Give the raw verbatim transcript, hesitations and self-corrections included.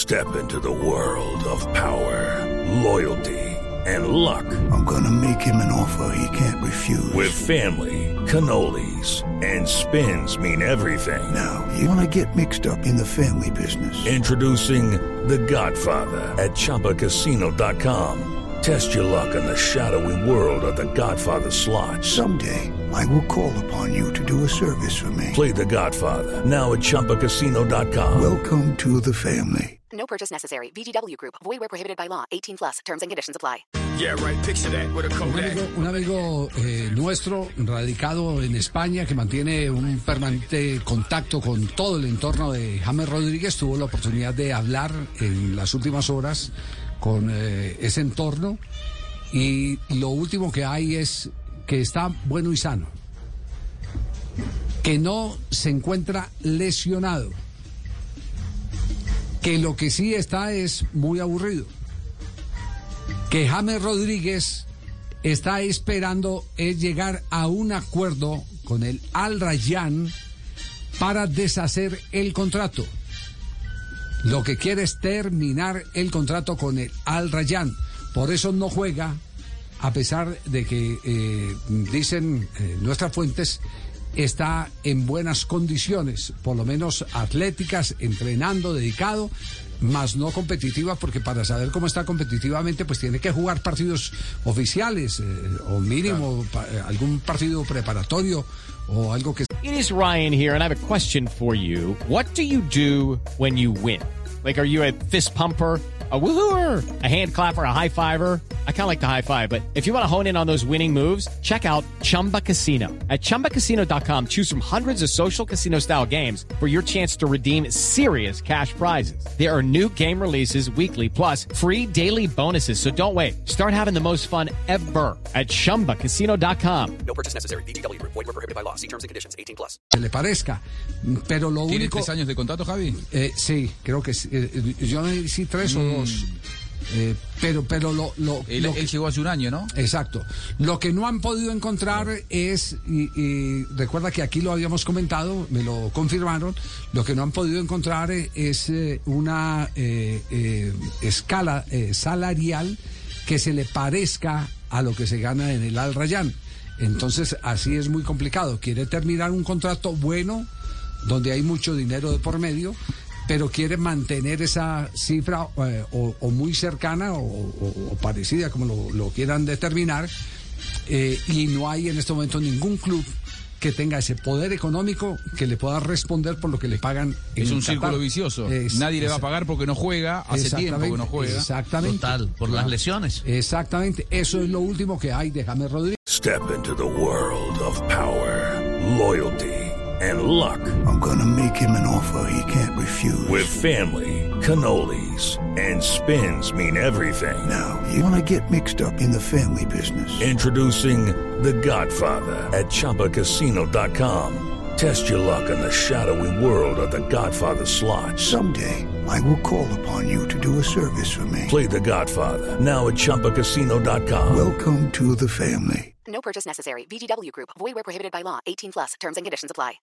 Step into the world of power, loyalty, and luck. I'm gonna make him an offer he can't refuse. With family, cannolis, and spins mean everything. Now, you wanna get mixed up in the family business. Introducing The Godfather at Chumba Casino dot com. Test your luck in the shadowy world of The Godfather slot. Someday, I will call upon you to do a service for me. Play The Godfather now at Chumba Casino dot com. Welcome to the family. No purchase necessary. V G W Group. Void where prohibited by law. eighteen plus. Terms and conditions apply. Yeah, right. Picture that with a Un Kodak. amigo, un amigo eh, nuestro, radicado en España, que mantiene un permanente contacto con todo el entorno de James Rodríguez, tuvo la oportunidad de hablar en las últimas horas con eh, ese entorno, y lo último que hay es que está bueno y sano, que no se encuentra lesionado, que lo que sí está es muy aburrido, que James Rodríguez está esperando es llegar a un acuerdo con el Al Rayyan para deshacer el contrato. Lo que quiere es terminar el contrato con el Al Rayyan. Por eso no juega, a pesar de que, eh, dicen eh, nuestras fuentes, está en buenas condiciones, por lo menos atléticas, entrenando, dedicado, más no competitiva, porque para saber cómo está competitivamente, pues tiene que jugar partidos oficiales, eh, o mínimo pa, eh, algún partido preparatorio o algo que... It is Ryan here, and I have a question for you. What do you do when you win? Like, are you a fist pumper, a woohooer, a hand clapper, a high fiver? I kind of like the high five, but if you want to hone in on those winning moves, check out Chumba Casino. At Chumba Casino dot com, choose from hundreds of social casino-style games for your chance to redeem serious cash prizes. There are new game releases weekly, plus free daily bonuses, so don't wait. Start having the most fun ever at Chumba Casino dot com. No purchase necessary. V G W Group. Void where prohibited by law. See terms and conditions. eighteen plus. que le parezca, pero lo ¿Tiene único... tres años de contrato, Javi? Eh, sí, creo que sí. Eh, yo no sé si tres mm. o dos. Eh, pero pero lo, lo, él, lo él que, llegó hace un año, ¿no? Exacto. Lo que no han podido encontrar es, y, y recuerda que aquí lo habíamos comentado, me lo confirmaron, lo que no han podido encontrar es eh, una eh, eh, escala eh, salarial que se le parezca a lo que se gana en el Al Rayyan. Entonces así es muy complicado. Quiere terminar un contrato bueno, donde hay mucho dinero de por medio, pero quiere mantener esa cifra eh, o, o muy cercana o, o, o parecida, como lo, lo quieran determinar, eh, y no hay en este momento ningún club que tenga ese poder económico que le pueda responder por lo que le pagan en Es un Qatar. círculo vicioso. Es, Nadie le va a es, pagar porque no juega, hace tiempo que no juega. Exactamente. Total, por las lesiones. Exactamente, eso es lo último que hay de James Rodríguez. Step into the world of power, loyalty, and luck. I'm gonna make him an offer he can't refuse. With family, cannolis, and spins mean everything. Now, you wanna get mixed up in the family business. Introducing The Godfather at Chumba Casino dot com. Test your luck in the shadowy world of The Godfather slot. Someday, I will call upon you to do a service for me. Play The Godfather now at Chumba Casino dot com. Welcome to the family. No purchase necessary. V G W Group. Void where prohibited by law. eighteen plus. Terms and conditions apply.